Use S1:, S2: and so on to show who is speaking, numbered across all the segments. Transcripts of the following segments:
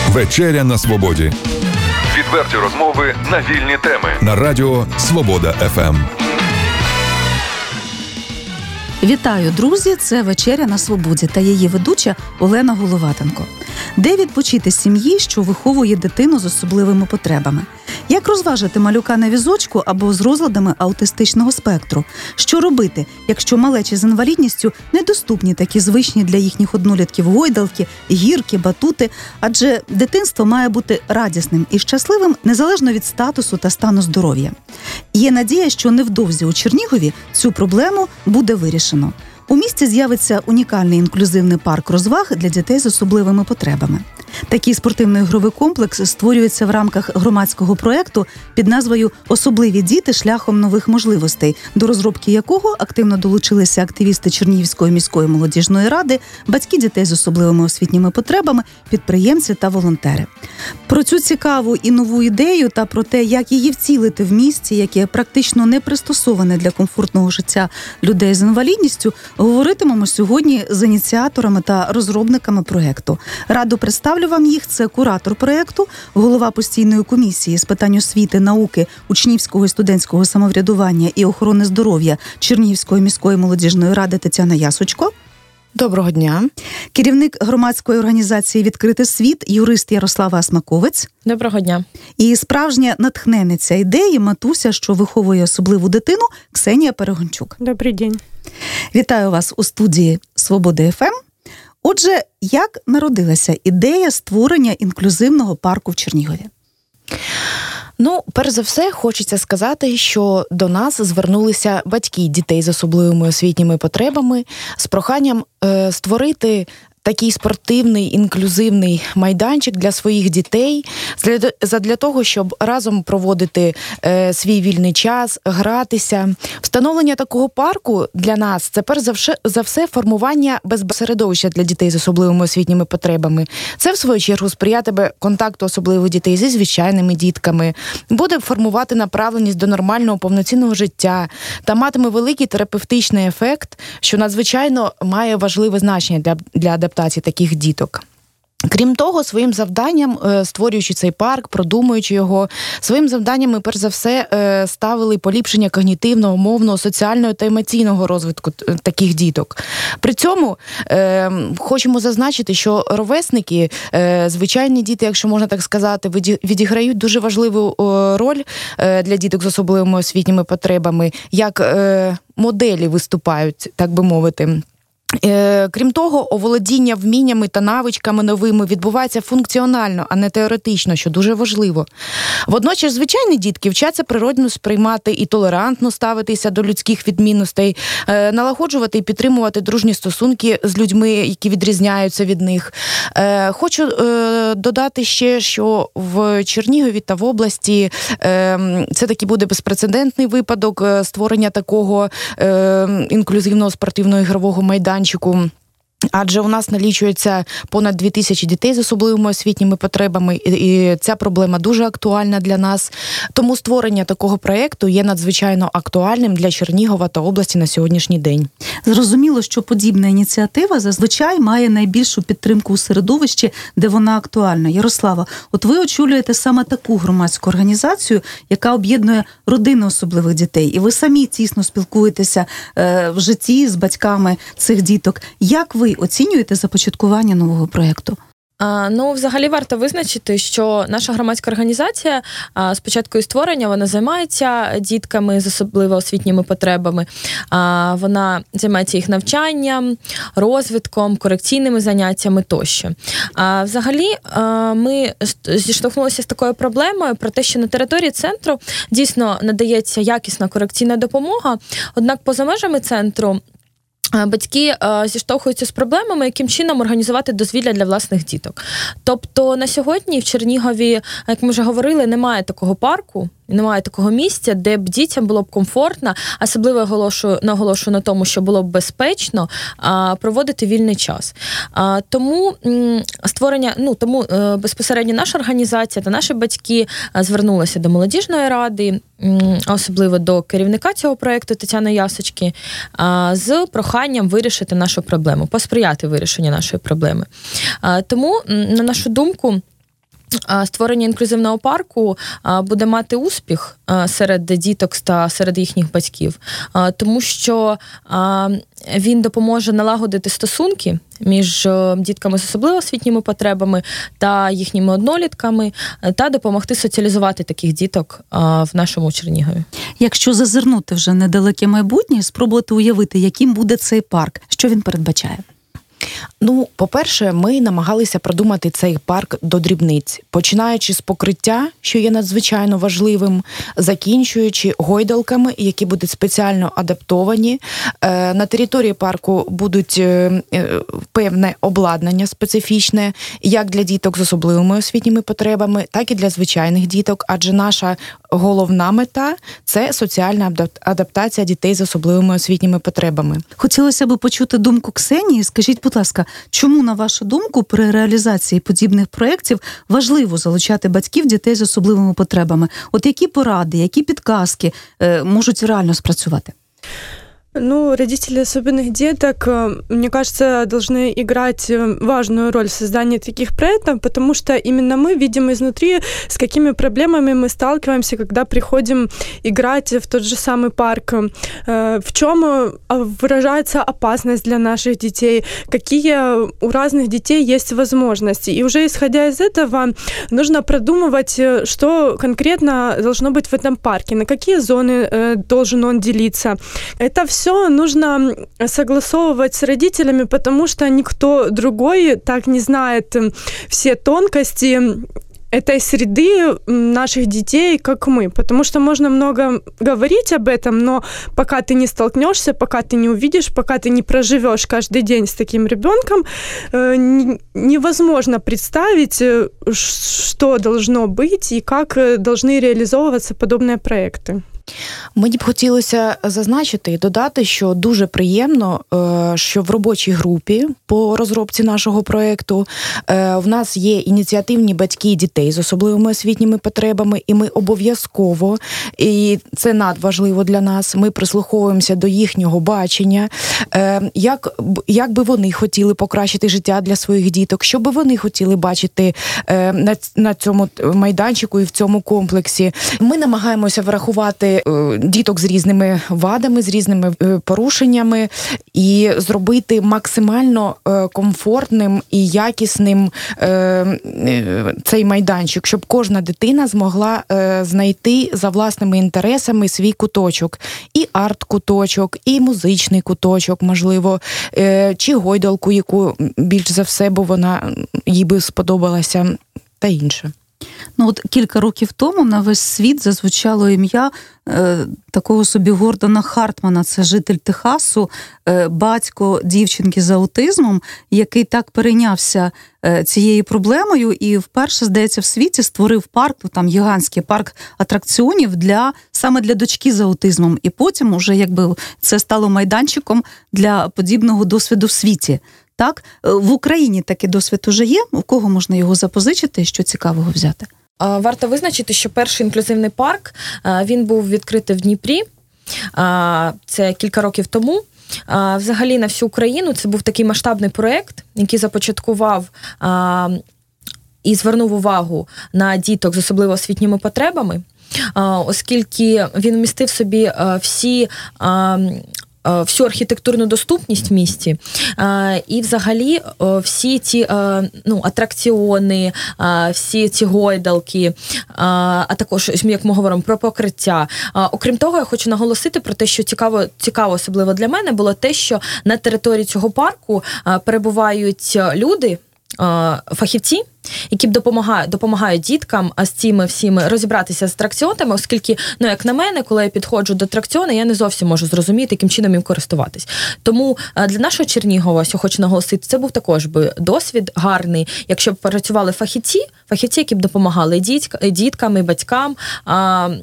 S1: Вечеря на свободі.
S2: Відверті розмови на вільні теми.
S1: На радіо Свобода ФМ.
S3: Вітаю, друзі! Це «Вечеря на свободі» та її ведуча Олена Головатенко. Де відпочити сім'ї, що виховує дитину з особливими потребами? Як розважити малюка на візочку або з розладами аутистичного спектру? Що робити, якщо малечі з інвалідністю недоступні такі звичні для їхніх однолітків гойдалки, гірки, батути? Адже дитинство має бути радісним і щасливим незалежно від статусу та стану здоров'я. Є надія, що невдовзі у Чернігові цю проблему буде вирішено. У місті з'явиться унікальний інклюзивний парк розваг для дітей з особливими потребами. Такий спортивно-ігровий комплекс створюється в рамках громадського проєкту під назвою «Особливі діти шляхом нових можливостей», до розробки якого активно долучилися активісти Чернігівської міської молодіжної ради, батьки дітей з особливими освітніми потребами, підприємці та волонтери. Про цю цікаву і нову ідею та про те, як її втілити в місті, яке практично не пристосоване для комфортного життя людей з інвалідністю, говоритимемо сьогодні з ініціаторами та розробниками проєкту. Раду представлю вам їх. Це куратор проєкту, голова постійної комісії з питань освіти, науки, учнівського і студентського самоврядування і охорони здоров'я Чернігівської міської молодіжної ради Тетяна Ясочко.
S4: Доброго дня.
S3: Керівник громадської організації «Відкритий світ», юрист Ярослава Асмаковець.
S5: Доброго дня.
S3: І справжня натхненниця ідеї, матуся, що виховує особливу дитину, Ксенія Перегончук.
S6: Добрий день.
S3: Вітаю вас у студії «Свобода ФМ». Отже, як народилася ідея створення інклюзивного парку в Чернігові?
S4: Перш за все, хочеться сказати, що до нас звернулися батьки дітей з особливими освітніми потребами з проханням створити такий спортивний, інклюзивний майданчик для своїх дітей, задля того, щоб разом проводити свій вільний час, гратися. Встановлення такого парку для нас – це перш за все формування безсередовища для дітей з особливими освітніми потребами. Це, в свою чергу, сприятиме контакту особливих дітей зі звичайними дітками, буде формувати направленість до нормального повноцінного життя та матиме великий терапевтичний ефект, що надзвичайно має важливе значення для адаптації таких діток. Крім того, своїм завданням, створюючи цей парк, продумуючи його, своїм завданням ми, перш за все, ставили поліпшення когнітивного, мовного, соціального та емоційного розвитку таких діток. При цьому хочемо зазначити, що ровесники, звичайні діти, якщо можна так сказати, відіграють дуже важливу роль для діток з особливими освітніми потребами, як моделі виступають, так би мовити. Крім того, оволодіння вміннями та навичками новими відбувається функціонально, а не теоретично, що дуже важливо. Водночас, звичайні дітки вчаться природно сприймати і толерантно ставитися до людських відмінностей, налагоджувати і підтримувати дружні стосунки з людьми, які відрізняються від них. Хочу додати ще, що в Чернігові та в області це таки буде безпрецедентний випадок створення такого інклюзивного спортивного ігрового майданчику. Адже у нас налічується понад 2000 дітей з особливими освітніми потребами, і ця проблема дуже актуальна для нас. Тому створення такого проєкту є надзвичайно актуальним для Чернігова та області на сьогоднішній день.
S3: Зрозуміло, що подібна ініціатива зазвичай має найбільшу підтримку у середовищі, де вона актуальна. Ярослава, от ви очолюєте саме таку громадську організацію, яка об'єднує родини особливих дітей, і ви самі тісно спілкуєтеся в житті з батьками цих діток. Як ви оцінюєте започаткування нового проєкту?
S5: Взагалі варто визначити, що наша громадська організація з початку її створення, вона займається дітками з особливо освітніми потребами. Вона займається їх навчанням, розвитком, корекційними заняттями тощо. Взагалі ми зіштовхнулися з такою проблемою про те, що на території центру дійсно надається якісна корекційна допомога, однак поза межами центру батьки зіштовхуються з проблемами, яким чином організувати дозвілля для власних діток. Тобто на сьогодні в Чернігові, як ми вже говорили, немає такого парку, немає такого місця, де б дітям було б комфортно, особливо наголошую на тому, що було б безпечно проводити вільний час. Тому безпосередньо наша організація та наші батьки звернулися до молодіжної ради, особливо до керівника цього проєкту Тетяни Ясочки, з проханням вирішити нашу проблему, посприяти вирішенню нашої проблеми. Тому, на нашу думку, створення інклюзивного парку буде мати успіх серед діток та серед їхніх батьків, тому що він допоможе налагодити стосунки між дітками з особливо освітніми потребами та їхніми однолітками, та допомогти соціалізувати таких діток в нашому Чернігові.
S3: Якщо зазирнути вже недалеке майбутнє, спробувати уявити, яким буде цей парк, що він передбачає?
S4: По-перше, ми намагалися продумати цей парк до дрібниць, починаючи з покриття, що є надзвичайно важливим, закінчуючи гойдалками, які будуть спеціально адаптовані. На території парку будуть певне обладнання специфічне, як для діток з особливими освітніми потребами, так і для звичайних діток, адже наша головна мета – це соціальна адаптація дітей з особливими освітніми потребами.
S3: Хотілося б почути думку Ксенії. Скажіть, будь ласка, чому, на вашу думку, при реалізації подібних проєктів важливо залучати батьків дітей з особливими потребами? От які поради, які підказки можуть реально спрацювати?
S6: Родители особенных деток, мне кажется, должны играть важную роль в создании таких проектов, потому что именно мы видим изнутри, с какими проблемами мы сталкиваемся, когда приходим играть в тот же самый парк, в чем выражается опасность для наших детей, какие у разных детей есть возможности. И уже исходя из этого, нужно продумывать, что конкретно должно быть в этом парке, на какие зоны должен он делиться. Это все нужно согласовывать с родителями, потому что никто другой так не знает все тонкости этой среды наших детей, как мы. Потому что можно много говорить об этом, но пока ты не столкнешься, пока ты не увидишь, пока ты не проживешь каждый день с таким ребенком, невозможно представить, что должно быть и как должны реализовываться подобные проекты.
S4: Мені б хотілося зазначити і додати, що дуже приємно, що в робочій групі по розробці нашого проєкту в нас є ініціативні батьки дітей з особливими освітніми потребами, і ми обов'язково, і це надважливо для нас, ми прислуховуємося до їхнього бачення, як би вони хотіли покращити життя для своїх діток, що би вони хотіли бачити на цьому майданчику і в цьому комплексі. Ми намагаємося врахувати діток з різними вадами, з різними порушеннями і зробити максимально комфортним і якісним цей майданчик, щоб кожна дитина змогла знайти за власними інтересами свій куточок. І арт-куточок, і музичний куточок, можливо, чи гойдалку, яку більш за все, бо вона їй би сподобалася, та інше.
S3: От кілька років тому на весь світ зазвучало ім'я такого собі Гордона Хартмана, це житель Техасу, батько дівчинки з аутизмом, який так перейнявся цією проблемою і вперше, здається, в світі створив парк, там гігантський парк атракціонів саме для дочки з аутизмом. І потім уже це стало майданчиком для подібного досвіду в світі. Так? В Україні такий досвід уже є? У кого можна його запозичити? Що цікавого взяти?
S5: Варто визначити, що перший інклюзивний парк, він був відкритий в Дніпрі. Це кілька років тому. Взагалі на всю Україну це був такий масштабний проєкт, який започаткував і звернув увагу на діток з особливо освітніми потребами, оскільки він вмістив в собі всю архітектурну доступність в місті, і взагалі всі ці атракціони, всі ці гойдалки, а також, як ми говоримо, про покриття. Окрім того, я хочу наголосити про те, що цікаво особливо для мене було те, що на території цього парку перебувають люди, фахівці, які допомагають діткам з цими всіми розібратися з атракціонами, оскільки, як на мене, коли я підходжу до атракціону, я не зовсім можу зрозуміти, яким чином їм користуватись. Тому для нашого Чернігова, що хочу наголосити, це був також би досвід гарний, якщо б працювали фахівці, які б допомагали діткам і батькам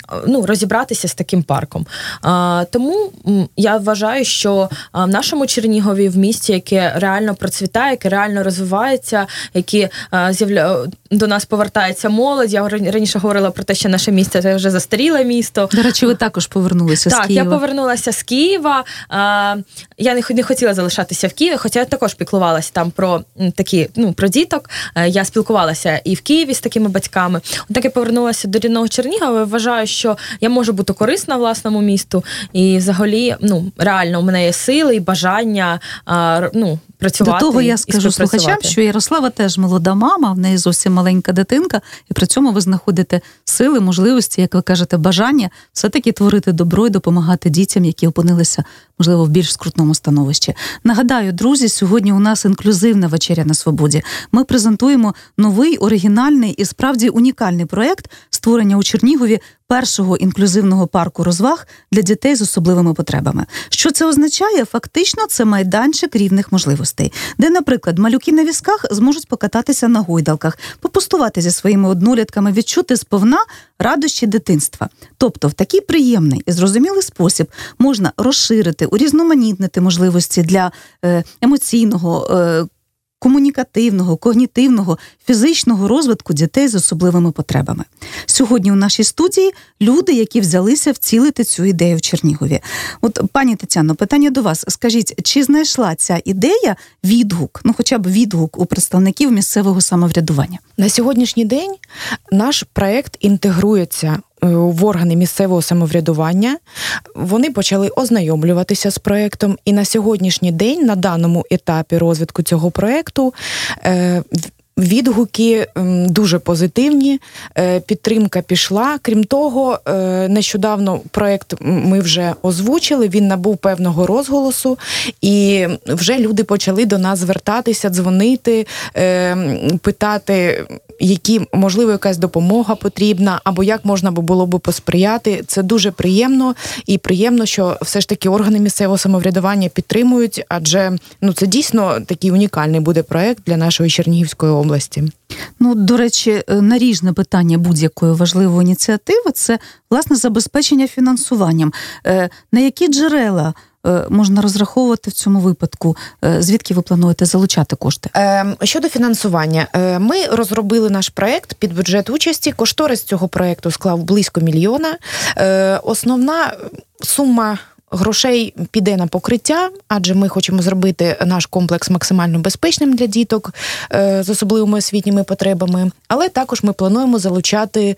S5: розібратися з таким парком. Тому я вважаю, що в нашому Чернігові, в місті, яке реально процвітає, яке реально розвивається, які до нас повертається молодь. Я раніше говорила про те, що наше місто – це вже застаріле місто.
S3: До речі, ви також повернулися з Києва.
S5: Так, я повернулася з Києва. Я не хотіла залишатися в Києві, хоча я також піклувалася там про про діток. Я спілкувалася і в Києві з такими батьками. Так я повернулася до рідного Чернігова. Вважаю, що я можу бути корисна власному місту. І взагалі, реально, у мене є сили і бажання працювати.
S3: До того я скажу слухачам, що Ярослава теж молода мама, в неї зовсім маленька дитинка, і при цьому ви знаходите сили, можливості, як ви кажете, бажання все-таки творити добро і допомагати дітям, які опинилися, можливо, в більш скрутному становищі. Нагадаю, друзі, сьогодні у нас інклюзивна вечеря на свободі. Ми презентуємо новий, оригінальний і справді унікальний проєкт створення у Чернігові першого інклюзивного парку розваг для дітей з особливими потребами. Що це означає? Фактично, це майданчик рівних можливостей, де, наприклад, малюки на візках зможуть покататися на гойдалках, попустувати зі своїми однолітками, відчути сповна радощі дитинства. Тобто, в такий приємний і зрозумілий спосіб можна розширити, урізноманітнити можливості для емоційного, комунікативного, когнітивного, фізичного розвитку дітей з особливими потребами. Сьогодні у нашій студії люди, які взялися втілити цю ідею в Чернігові. От, пані Тетяно, питання до вас. Скажіть, чи знайшла ця ідея відгук, хоча б відгук у представників місцевого самоврядування?
S4: На сьогоднішній день наш проєкт інтегрується в органи місцевого самоврядування. Вони почали ознайомлюватися з проєктом, і на сьогоднішній день, на даному етапі розвитку цього проєкту, відгуки дуже позитивні, підтримка пішла. Крім того, нещодавно проєкт ми вже озвучили, він набув певного розголосу, і вже люди почали до нас звертатися, дзвонити, питати, можливо, якась допомога потрібна, або як можна було б посприяти. Це дуже приємно, і приємно, що все ж таки органи місцевого самоврядування підтримують, адже це дійсно такий унікальний буде проєкт для нашої Чернігівської області.
S3: До речі, наріжне питання будь-якої важливої ініціативи – це, власне, забезпечення фінансуванням. На які джерела можна розраховувати в цьому випадку? Звідки ви плануєте залучати кошти?
S4: Щодо фінансування. Ми розробили наш проєкт під бюджет участі. Кошторис цього проєкту склав близько 1 мільйона. Основна сума грошей піде на покриття, адже ми хочемо зробити наш комплекс максимально безпечним для діток з особливими освітніми потребами, але також ми плануємо залучати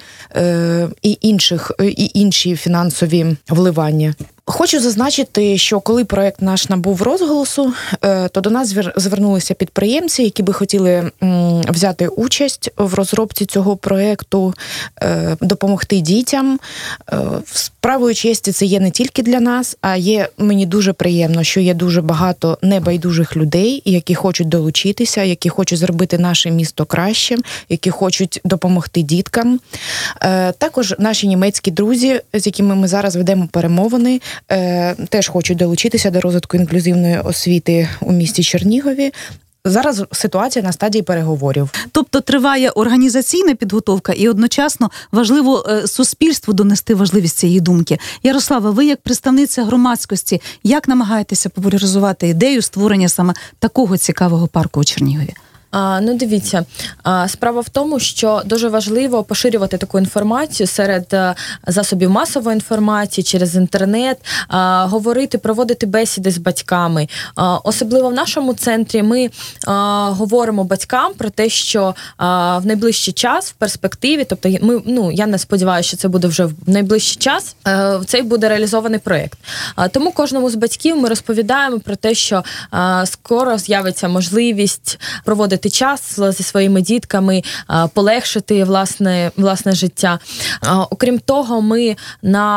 S4: і інші фінансові вливання. Хочу зазначити, що коли проєкт наш набув розголосу, то до нас звернулися підприємці, які би хотіли взяти участь в розробці цього проєкту, допомогти дітям. Справою честі це є не тільки для нас, а мені дуже приємно, що є дуже багато небайдужих людей, які хочуть долучитися, які хочуть зробити наше місто кращим, які хочуть допомогти діткам. Також наші німецькі друзі, з якими ми зараз ведемо перемовини, теж хочуть долучитися до розвитку інклюзивної освіти у місті Чернігові. Зараз ситуація на стадії переговорів.
S3: Тобто триває організаційна підготовка і одночасно важливо суспільству донести важливість цієї думки. Ярослава, ви як представниця громадськості, як намагаєтеся популяризувати ідею створення саме такого цікавого парку у Чернігові?
S5: Дивіться, справа в тому, що дуже важливо поширювати таку інформацію серед засобів масової інформації, через інтернет, говорити, проводити бесіди з батьками. Особливо в нашому центрі ми говоримо батькам про те, що в найближчий час, в перспективі, тобто я не сподіваюся, що це буде вже в найближчий час, цей буде реалізований проєкт. Тому кожному з батьків ми розповідаємо про те, що скоро з'явиться можливість проводити час зі своїми дітками, полегшити власне життя. Окрім того, ми на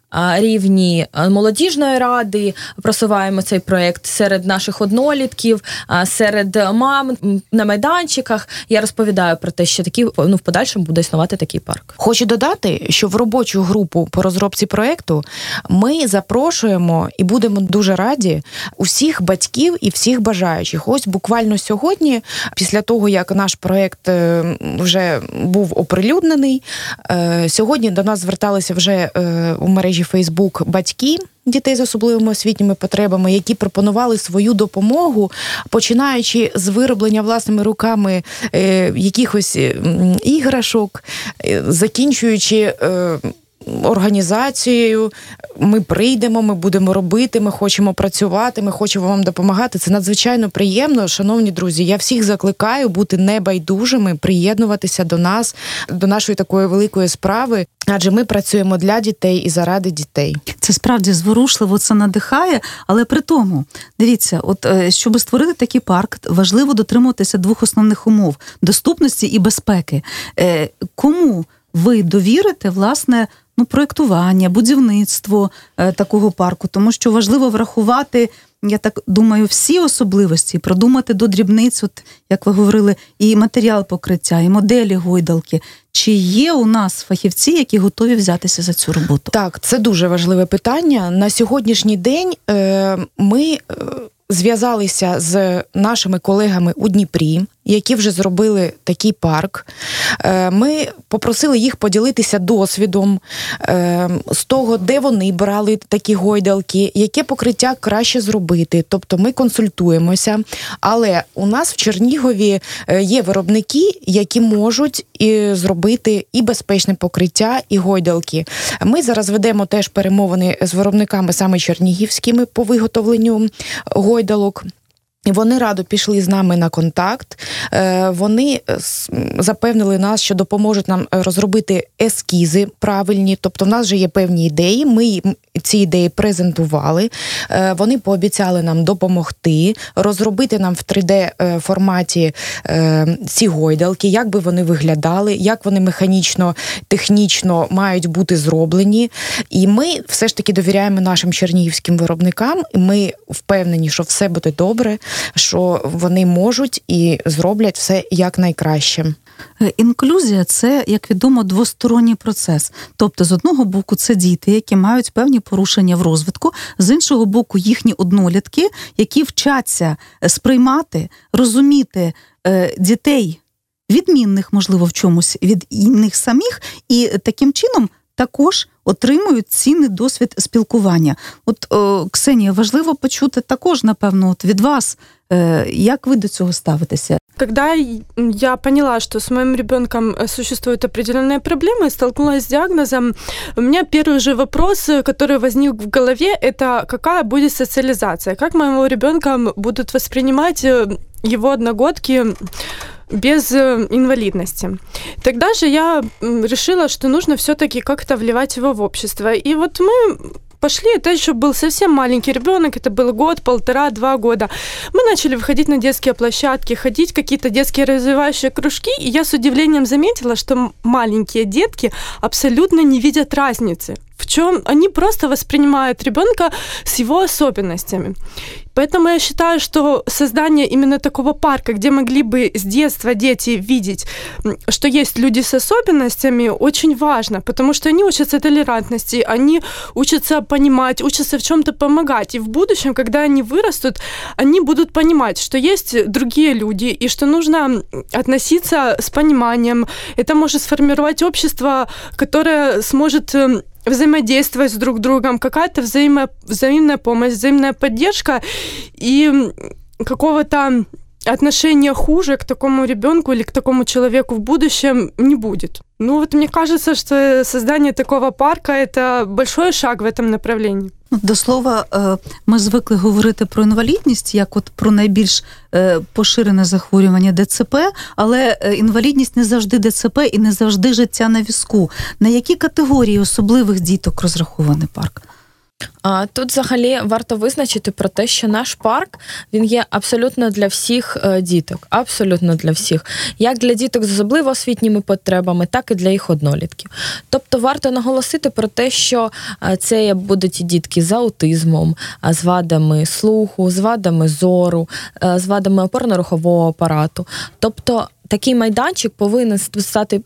S5: рівні молодіжної ради просуваємо цей проєкт серед наших однолітків, серед мам на майданчиках. Я розповідаю про те, що в подальшому буде існувати такий парк.
S4: Хочу додати, що в робочу групу по розробці проєкту ми запрошуємо і будемо дуже раді усіх батьків і всіх бажаючих. Ось буквально сьогодні, після того, як наш проєкт вже був оприлюднений, сьогодні до нас зверталися вже у мережі Facebook батьки дітей з особливими освітніми потребами, які пропонували свою допомогу, починаючи з вироблення власними руками якихось іграшок, закінчуючи організацією. Ми прийдемо, ми будемо робити, ми хочемо працювати, ми хочемо вам допомагати. Це надзвичайно приємно. Шановні друзі, я всіх закликаю бути небайдужими, приєднуватися до нас, до нашої такої великої справи, адже ми працюємо для дітей і заради дітей.
S3: Це справді зворушливо, це надихає, але при тому, дивіться, щоб створити такий парк, важливо дотримуватися двох основних умов – доступності і безпеки. Кому ви довірите, власне, проєктування, будівництво такого парку, тому що важливо врахувати, я так думаю, всі особливості, продумати до дрібниць, як ви говорили, і матеріал покриття, і моделі гойдалки. Чи є у нас фахівці, які готові взятися за цю роботу?
S4: Так, це дуже важливе питання. На сьогоднішній день ми зв'язалися з нашими колегами у Дніпрі, які вже зробили такий парк. Ми попросили їх поділитися досвідом з того, де вони брали такі гойдалки, яке покриття краще зробити. Тобто ми консультуємося. Але у нас в Чернігові є виробники, які можуть зробити і безпечне покриття, і гойдалки. Ми зараз ведемо теж перемовини з виробниками саме чернігівськими по виготовленню гойдалок. Вони радо пішли з нами на контакт, вони запевнили нас, що допоможуть нам розробити ескізи правильні, тобто в нас вже є певні ідеї, ми ці ідеї презентували, вони пообіцяли нам допомогти, розробити нам в 3D-форматі ці гойдалки, як би вони виглядали, як вони механічно, технічно мають бути зроблені. І ми все ж таки довіряємо нашим чернігівським виробникам, і ми впевнені, що все буде добре, що вони можуть і зроблять все якнайкраще.
S3: Інклюзія – це, як відомо, двосторонній процес. Тобто, з одного боку, це діти, які мають певні порушення в розвитку, з іншого боку, їхні однолітки, які вчаться сприймати, розуміти дітей, відмінних, можливо, в чомусь від них самих, і таким чином також отримують цінний досвід спілкування. Ксенія, важливо почути також, напевно, від вас, як ви до цього ставитеся?
S6: Когда я поняла, что с моим ребенком существуют определенные проблемы, столкнулась с диагнозом, у меня первый же вопрос, который возник в голове, это какая будет социализация, как моего ребенка будут воспринимать его одногодки без инвалидности. Тогда же я решила, что нужно все-таки как-то вливать его в общество. И вот мы пошли, это еще был совсем маленький ребенок, это был год, 1,5-2 года. Мы начали выходить на детские площадки, ходить в какие-то детские развивающие кружки, и я с удивлением заметила, что маленькие детки абсолютно не видят разницы. В чем они просто воспринимают ребенка с его особенностями. Поэтому я считаю, что создание именно такого парка, где могли бы с детства дети видеть, что есть люди с особенностями, очень важно, потому что они учатся толерантности, они учатся понимать, учатся в чем-то помогать. И в будущем, когда они вырастут, они будут понимать, что есть другие люди, и что нужно относиться с пониманием. Это может сформировать общество, которое сможет взаимодействовать с друг другом, какая-то взаимная помощь, взаимная поддержка, и какого-то отношения хуже к такому ребенку или к такому человеку в будущем не будет. Мне кажется, что создание такого парка – это большой шаг в этом направлении.
S3: До слова, ми звикли говорити про інвалідність, як про найбільш поширене захворювання ДЦП, але інвалідність не завжди ДЦП і не завжди життя на візку. На які категорії особливих діток розрахований парк?
S5: Тут взагалі варто визначити про те, що наш парк, він є абсолютно для всіх діток, абсолютно для всіх. Як для діток з особливо освітніми потребами, так і для їх однолітків. Тобто варто наголосити про те, що це будуть і дітки з аутизмом, з вадами слуху, з вадами зору, з вадами опорно-рухового апарату. Тобто такий майданчик повинен стати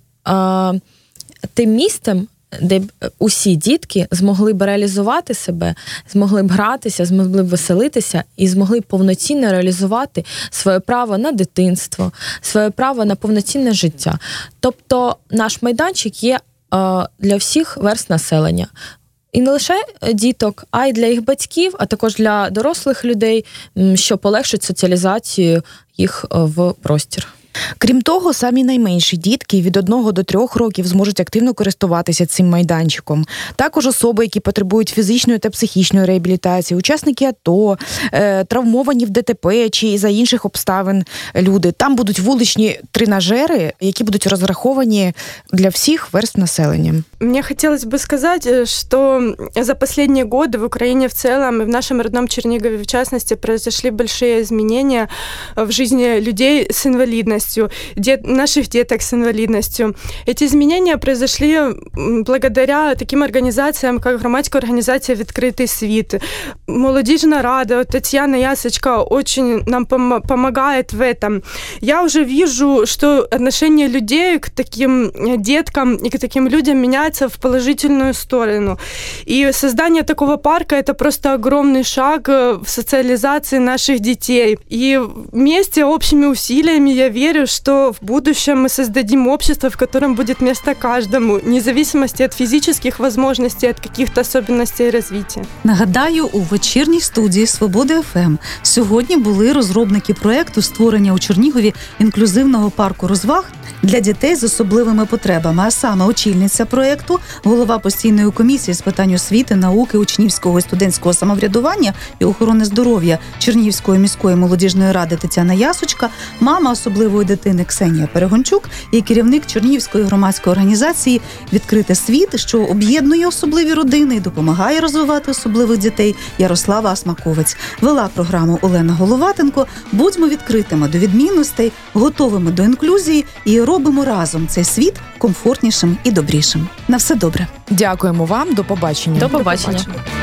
S5: тим місцем, де б усі дітки змогли б реалізувати себе, змогли б гратися, змогли б веселитися і змогли б повноцінно реалізувати своє право на дитинство, своє право на повноцінне життя. Тобто наш майданчик є для всіх верств населення. І не лише діток, а й для їх батьків, а також для дорослих людей, що полегшить соціалізацію їх в простір.
S4: Крім того, самі найменші дітки від 1 до 3 років зможуть активно користуватися цим майданчиком. Також особи, які потребують фізичної та психічної реабілітації, учасники АТО, травмовані в ДТП чи за інших обставин люди. Там будуть вуличні тренажери, які будуть розраховані для всіх верств населення.
S6: Мне хотелось бы сказать, что за последние годы в Украине в целом и в нашем родном Чернигове в частности произошли большие изменения в жизни людей с инвалидностью, наших деток с инвалидностью. Эти изменения произошли благодаря таким организациям, как громадская организация «Відкритий світ». Молодежная рада, Татьяна Ясочка очень нам помогает в этом. Я уже вижу, что отношение людей к таким деткам и к таким людям меняется в положительную сторону. И создание такого парка – это просто огромный шаг в социализации наших детей. И вместе, общими усилиями, я верю, что в будущем мы создадим общество, в котором будет место каждому, вне зависимости от физических возможностей, от каких-то особенностей развития.
S3: Нагадаю, у вечірній студії «Свобода ФМ» сьогодні були розробники проєкту створення у Чернігові інклюзивного парку розваг для дітей з особливими потребами, а саме очільниця проєкту, голова постійної комісії з питань освіти, науки, учнівського і студентського самоврядування і охорони здоров'я Чернігівської міської молодіжної ради Тетяна Ясочка, мама особливої дитини Ксенія Перегончук і керівник Чернігівської громадської організації «Відкритий світ», що об'єднує особливі родини і допомагає розвивати особливих дітей, Ярослава Асмаковець. Вела програму Олена Головатенко. Будьмо відкритими до відмінностей, готовими до інклюзії і робимо разом цей світ комфортнішим і добрішим. На все добре.
S4: Дякуємо вам. До побачення.
S5: До побачення.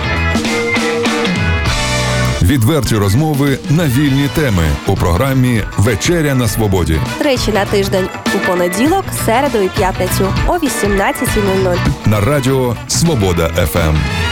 S1: Відверті розмови на вільні теми у програмі «Вечеря на свободі».
S7: Тричі на тиждень у понеділок, середу і п'ятницю о 18:00.
S1: На радіо «Свобода ФМ».